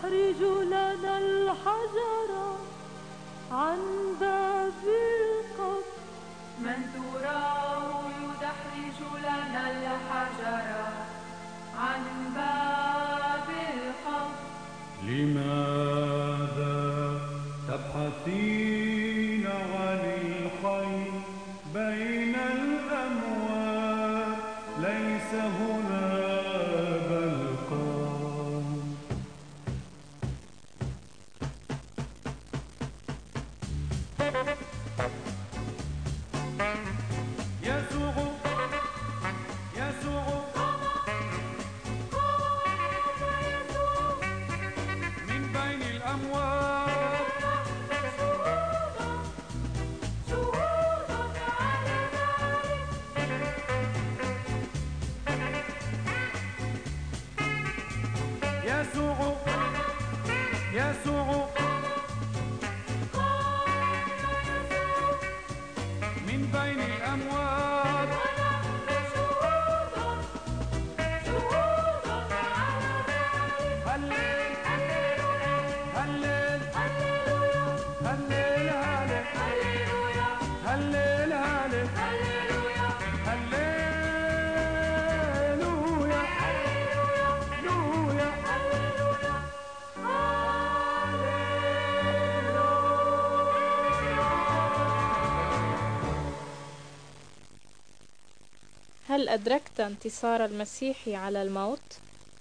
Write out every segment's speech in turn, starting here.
يدحرج لنا الحجر عن باب القبر. من تراه يدحرج لنا الحجر عن باب القبر. لماذا تبحثين عن الحي بين الأموات؟ ليس هنا بل قام. يسوع يسوع من بين الأموات. يسوع يسوع من بين الأموات. هلل هلل هلل هلل هلل هل أدركت انتصار المسيح على الموت؟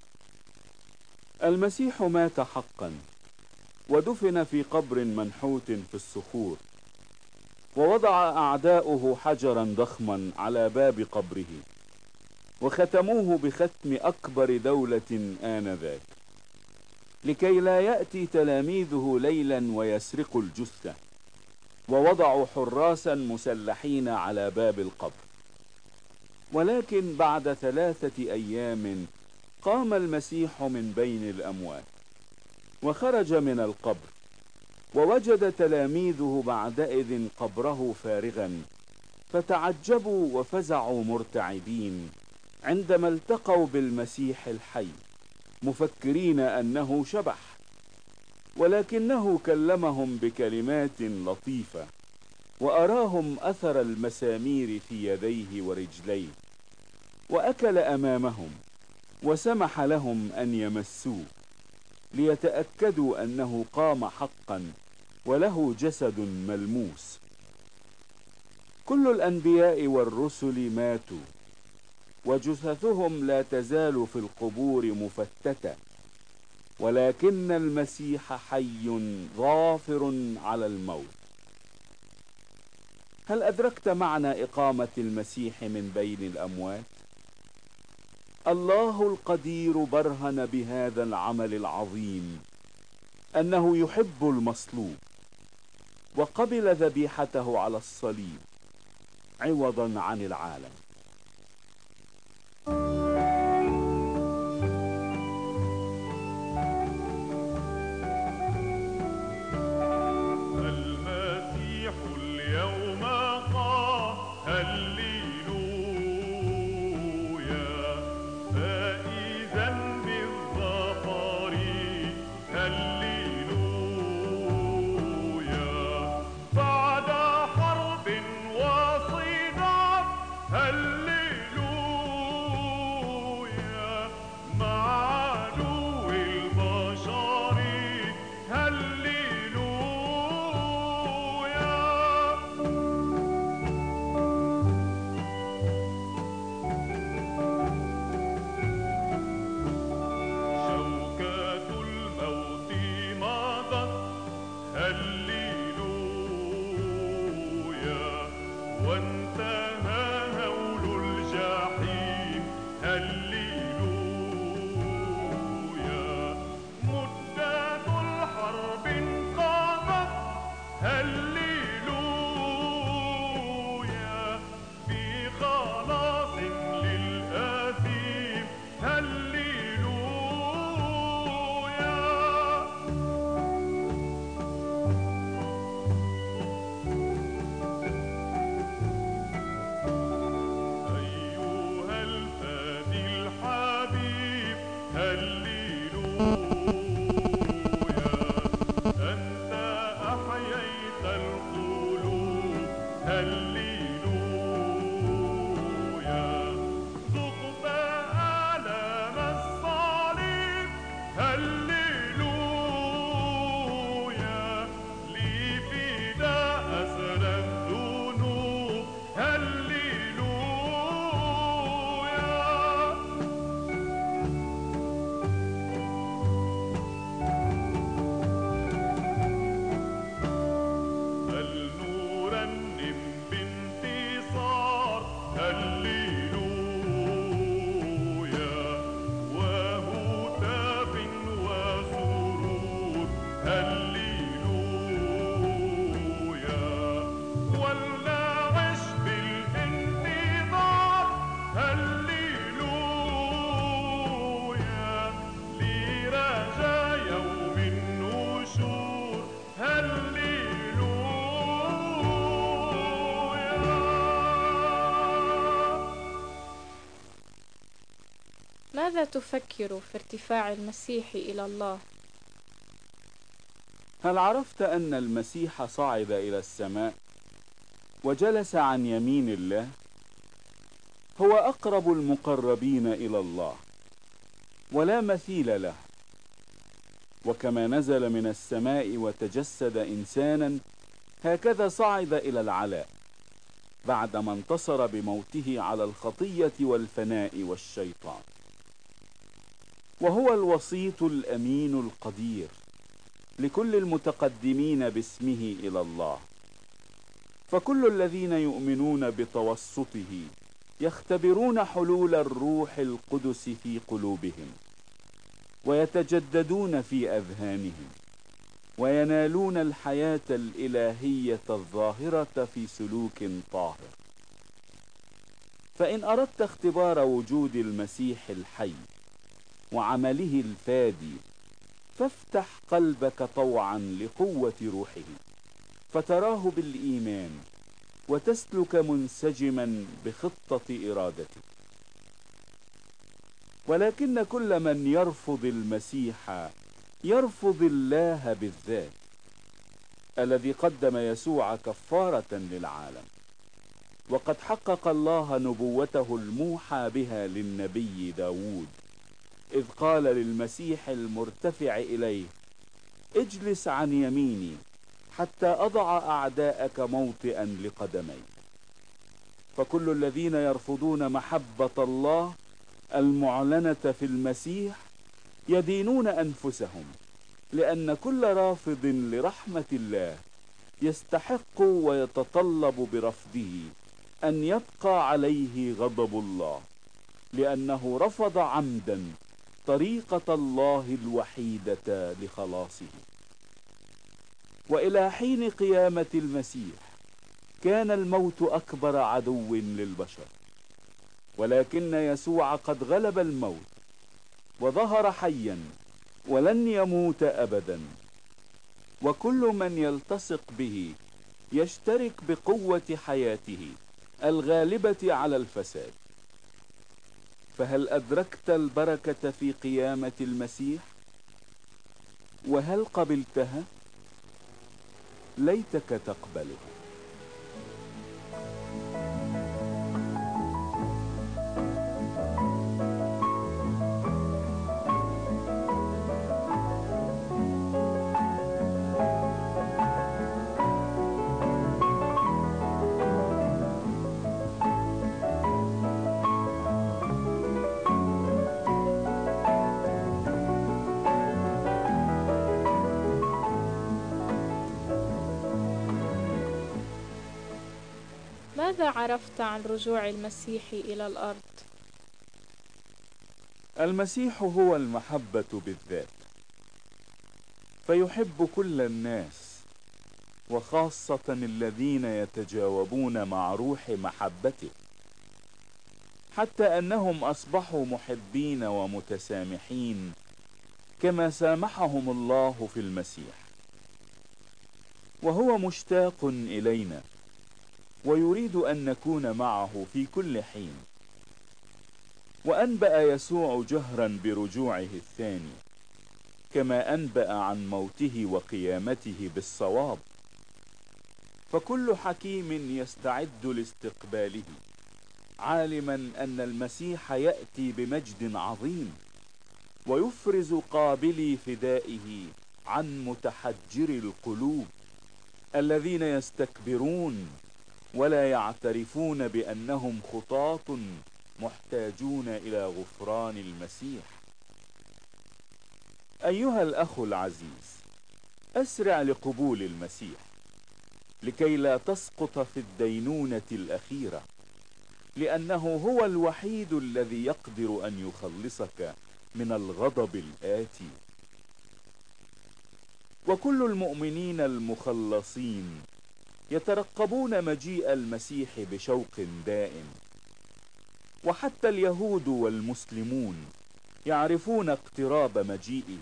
المسيح مات حقا ودفن في قبر منحوت في الصخور، ووضع أعداؤه حجرا ضخما على باب قبره، وختموه بختم أكبر دولة آنذاك، لكي لا يأتي تلاميذه ليلا ويسرقوا الجثة. ووضعوا حراسا مسلحين على باب القبر. ولكن بعد 3 أيام قام المسيح من بين الأموات، وخرج من القبر، ووجد تلاميذه بعدئذ قبره فارغا، فتعجبوا وفزعوا مرتعبين عندما التقوا بالمسيح الحي، مفكرين أنه شبح. ولكنه كلمهم بكلمات لطيفة، وأراهم أثر المسامير في يديه ورجليه، وأكل أمامهم، وسمح لهم أن يمسوه، ليتأكدوا أنه قام حقا وله جسد ملموس. كل الأنبياء والرسل ماتوا، وجثثهم لا تزال في القبور مفتتة، ولكن المسيح حي ظافر على الموت. هل أدركت معنى إقامة المسيح من بين الأموات؟ الله القدير برهن بهذا العمل العظيم أنه يحب المصلوب، وقبل ذبيحته على الصليب عوضا عن العالم. المسيح اليوم قام، هللويا، فائزا بالظفر، هللويا، بعد حرب وصدام، هللويا، مع عدو البشر، هللويا. هللويا ذق بآلام الصليب هللويا لي فداء أسر الذنوب هللويا فلنرنم بانتصار هللويا وهتاف وسرور هللويا ولنعش بالانتظار هللويا لرجا يوم النشور هللويا. ماذا تفكر في ارتفاع المسيح إلى الله؟ هل عرفت أن المسيح صعد إلى السماء وجلس عن يمين الله؟ هو أقرب المقربين إلى الله ولا مثيل له. وكما نزل من السماء وتجسد إنسانا، هكذا صعد إلى العلاء بعدما انتصر بموته على الخطية والفناء والشيطان. وهو الوسيط الأمين القدير لكل المتقدمين باسمه إلى الله. فكل الذين يؤمنون بتوسطه يختبرون حلول الروح القدس في قلوبهم، ويتجددون في أذهانهم، وينالون الحياة الإلهية الظاهرة في سلوك طاهر. فإن أردت اختبار وجود المسيح الحي وعمله الفادي، فافتح قلبك طوعا لقوة روحه، فتراه بالإيمان وتسلك منسجما بخطة إرادته. ولكن كل من يرفض المسيح يرفض الله بالذات، الذي قدم يسوع كفارة للعالم. وقد حقق الله نبوته الموحى بها للنبي داود، إذ قال للمسيح المرتفع إليه: اجلس عن يميني حتى أضع أعداءك موطئا لقدمي. فكل الذين يرفضون محبة الله المعلنة في المسيح يدينون أنفسهم، لأن كل رافض لرحمة الله يستحق ويتطلب برفضه أن يبقى عليه غضب الله، لأنه رفض عمدا طريقة الله الوحيدة لخلاصه. وإلى حين قيامة المسيح كان الموت أكبر عدو للبشر، ولكن يسوع قد غلب الموت وظهر حيا ولن يموت أبدا. وكل من يلتصق به يشترك بقوة حياته الغالبة على الفساد. فهل أدركت البركة في قيامة المسيح؟ وهل قبلتها؟ ليتك تقبلها. ماذا عرفت عن رجوع المسيح إلى الأرض؟ المسيح هو المحبة بالذات، فيحب كل الناس، وخاصة الذين يتجاوبون مع روح محبته، حتى أنهم أصبحوا محبين ومتسامحين كما سامحهم الله في المسيح. وهو مشتاق إلينا ويريد أن نكون معه في كل حين. وأنبأ يسوع جهرا برجوعه الثاني، كما أنبأ عن موته وقيامته بالصواب. فكل حكيم يستعد لاستقباله، عالما أن المسيح يأتي بمجد عظيم، ويفرز قابلي فدائه عن متحجر القلوب الذين يستكبرون ولا يعترفون بأنهم خطاة محتاجون إلى غفران المسيح. أيها الأخ العزيز، أسرع لقبول المسيح لكي لا تسقط في الدينونة الأخيرة، لأنه هو الوحيد الذي يقدر أن يخلصك من الغضب الآتي. وكل المؤمنين المخلصين يترقبون مجيء المسيح بشوق دائم، وحتى اليهود والمسلمون يعرفون اقتراب مجيئه.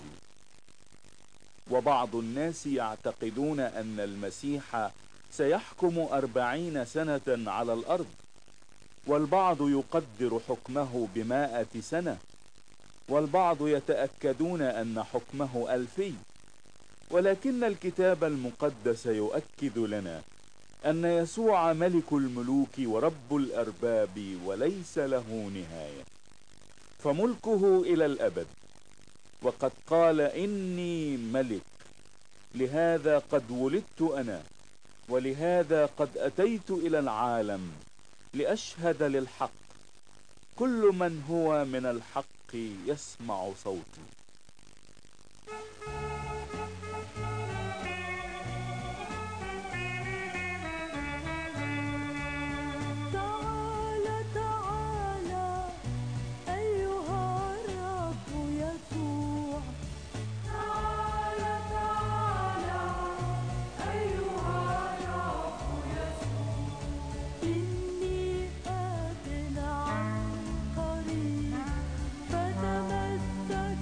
وبعض الناس يعتقدون أن المسيح سيحكم 40 سنة على الأرض، والبعض يقدر حكمه ب100 سنة، والبعض يتأكدون أن حكمه 2000. ولكن الكتاب المقدس يؤكد لنا أن يسوع ملك الملوك ورب الأرباب وليس له نهاية، فملكه إلى الأبد. وقد قال: إني ملك، لهذا قد ولدت أنا، ولهذا قد أتيت إلى العالم لأشهد للحق. كل من هو من الحق يسمع صوتي. تعالى تعالى أيها الرب يسوع، تعالى تعالى أيها الرب يسوع، إني آت عن قريب، فتمسك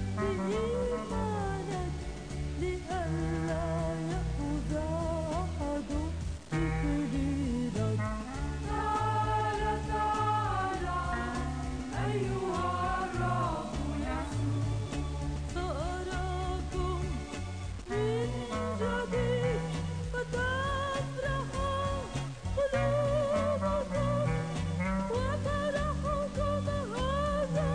بإيمانك لئلا يأخذ أحد بسبيلك. تعالى تعالى أيها الرب يسوع، سأراكم من جديد فتفرح قلوبكم، وفرحكم هذا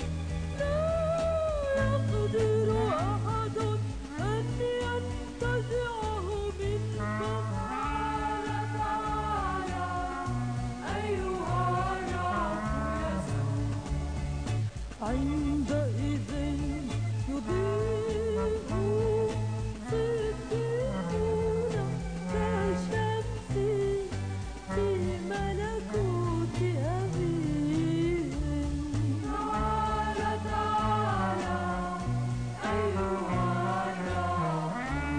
لا يقدر أحد أن ينتزعه منكم. تعالى تعالى أيها الرب يسوع، عندئذ يضيء صديقون كالشمس في ملكوت أبيهم. تعالى تعالى أيها الرب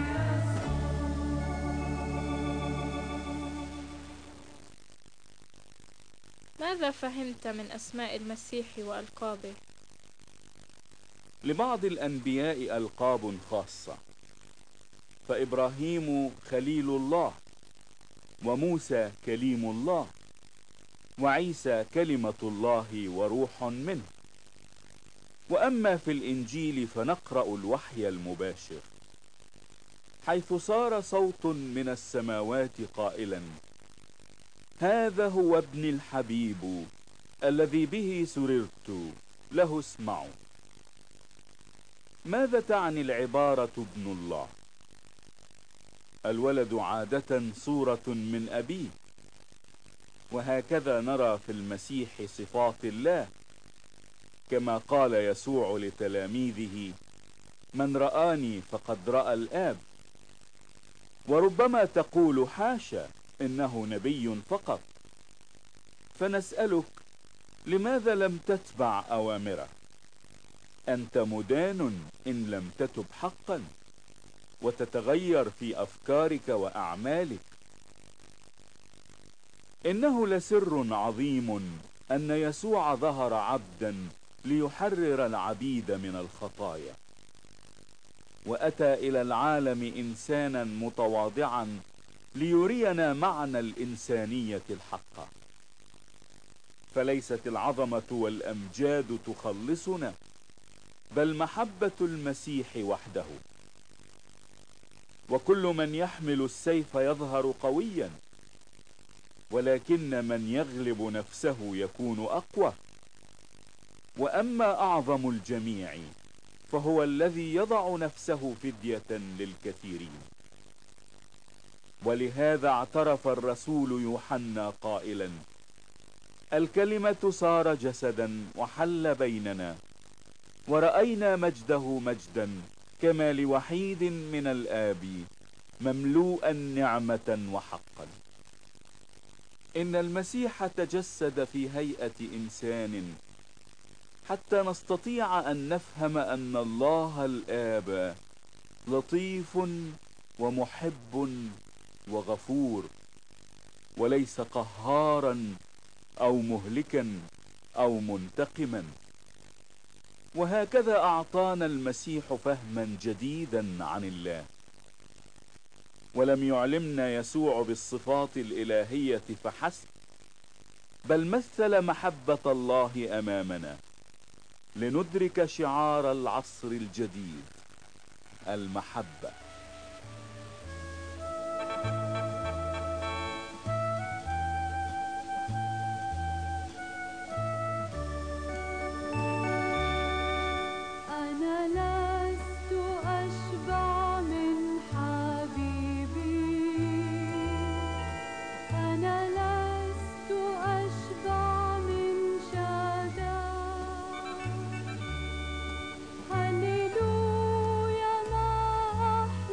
ماذا فهمت من أسماء المسيح وألقابه؟ لبعض الأنبياء ألقاب خاصة، فإبراهيم خليل الله، وموسى كليم الله، وعيسى كلمة الله وروح منه. وأما في الإنجيل فنقرأ الوحي المباشر، حيث صار صوت من السماوات قائلا: هذا هو ابن الحبيب الذي به سررت، له اسمعوا. ماذا تعني العبارة ابن الله؟ الولد عادة صورة من أبيه، وهكذا نرى في المسيح صفات الله، كما قال يسوع لتلاميذه: من رآني فقد رأى الآب. وربما تقول: حاشا، إنه نبي فقط. فنسألك: لماذا لم تتبع أوامره؟ أنت مدان إن لم تتب حقا وتتغير في أفكارك وأعمالك. إنه لسر عظيم أن يسوع ظهر عبدا ليحرر العبيد من الخطايا، وأتى إلى العالم إنسانا متواضعا ليرينا معنى الإنسانية الحقة. فليست العظمة والأمجاد تخلصنا، بل محبة المسيح وحده. وكل من يحمل السيف يظهر قويا، ولكن من يغلب نفسه يكون أقوى. وأما أعظم الجميع فهو الذي يضع نفسه فدية للكثيرين. ولهذا اعترف الرسول يوحنا قائلا: الكلمة صار جسدا وحل بيننا، ورأينا مجده مجدا كما لوحيد من الآب، مملوءا نعمة وحقا. إن المسيح تجسد في هيئة إنسان حتى نستطيع أن نفهم أن الله الآب لطيف ومحب وغفور، وليس قهارا أو مهلكا أو منتقما. وهكذا أعطانا المسيح فهما جديدا عن الله. ولم يعلمنا يسوع بالصفات الإلهية فحسب، بل مثل محبة الله أمامنا لندرك شعار العصر الجديد: المحبة. أنا لست أشبع من حبيبي، أنا لست أشبع من شدائد. هللويا ما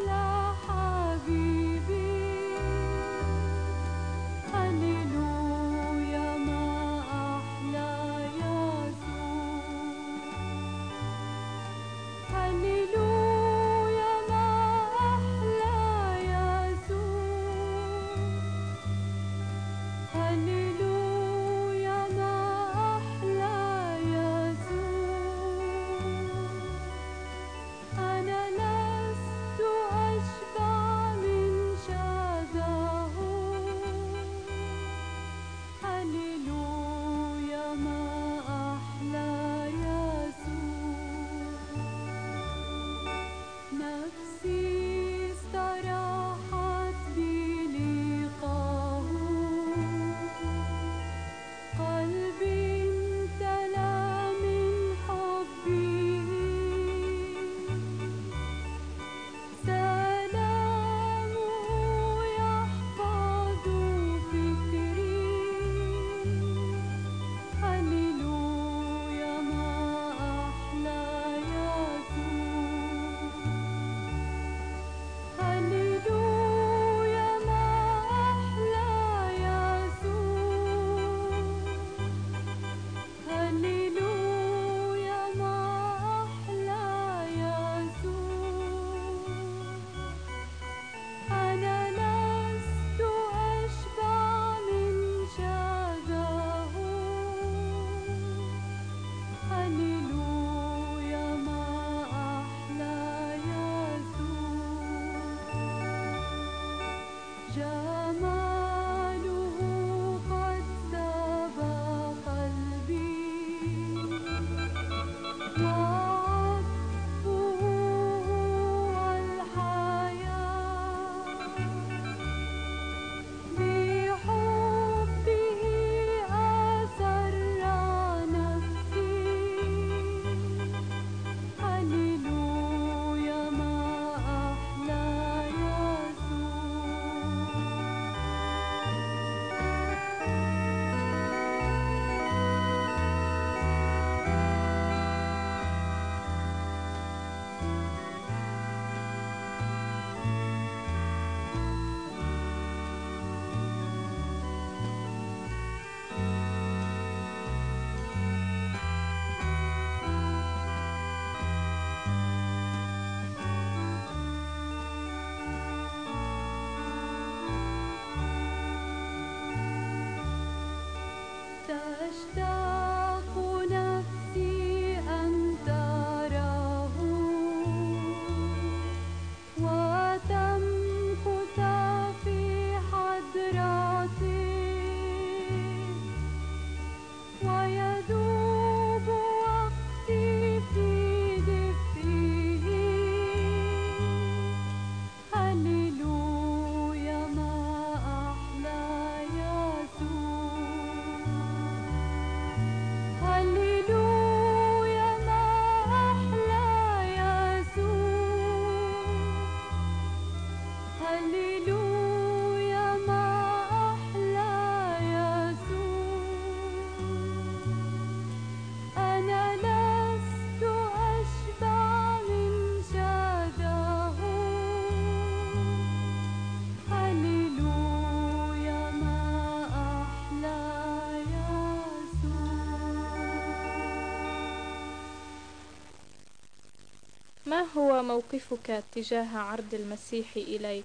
ما هو موقفك تجاه عرض المسيح إليك؟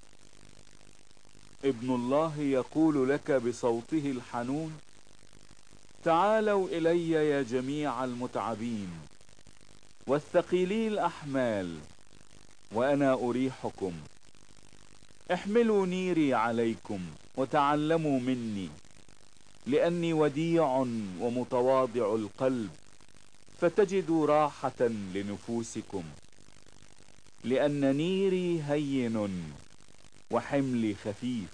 ابن الله يقول لك بصوته الحنون: تعالوا إلي يا جميع المتعبين والثقيلي الأحمال وأنا أريحكم. احملوا نيري عليكم وتعلموا مني، لأني وديع ومتواضع القلب، فتجدوا راحة لنفوسكم، لأن نيري هين وحملي خفيف.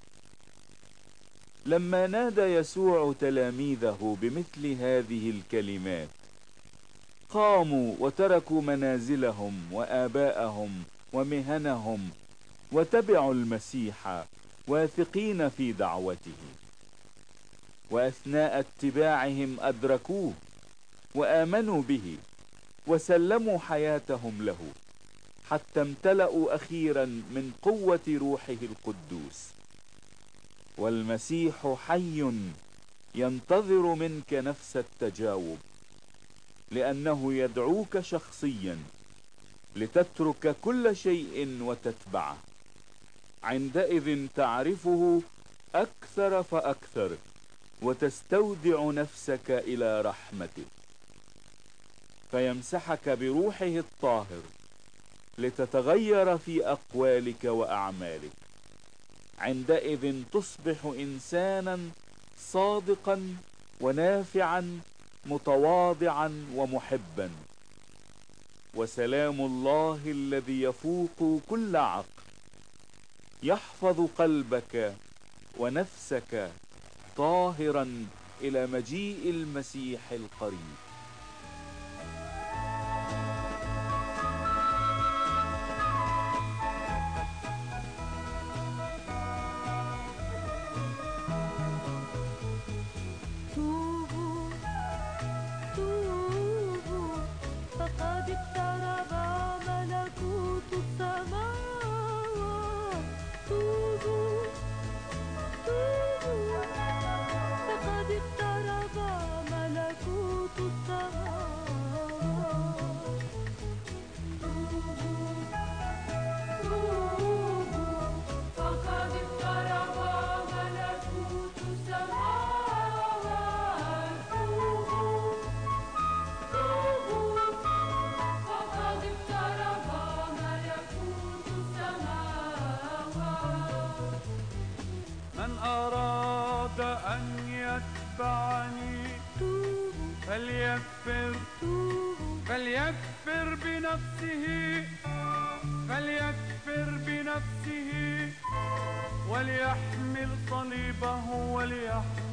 لما نادى يسوع تلاميذه بمثل هذه الكلمات قاموا وتركوا منازلهم وآباءهم ومهنهم وتبعوا المسيح واثقين في دعوته. وأثناء اتباعهم أدركوه وآمنوا به وسلموا حياتهم له، حتى امتلأوا أخيرا من قوة روحه القدوس. والمسيح حي ينتظر منك نفس التجاوب، لأنه يدعوك شخصيا لتترك كل شيء وتتبعه. عندئذ تعرفه أكثر فأكثر وتستودع نفسك إلى رحمته، فيمسحك بروحه الطاهر لتتغير في أقوالك وأعمالك. عندئذ تصبح إنسانا صادقا ونافعا متواضعا ومحبا. وسلام الله الذي يفوق كل عقل يحفظ قلبك ونفسك طاهرا إلى مجيء المسيح القريب. توبوا توبوا فقد اقترب ملكوت السماوات. توبوا توبوا فقد اقترب ملكوت السماوات. توبوا توبوا فقد اقترب ملكوت السماوات. توبوا توبوا فقد اقترب ملكوت السماوات. من أراد أن يتبعني فليكفر بنفسه وليحمل صليبه وليحمل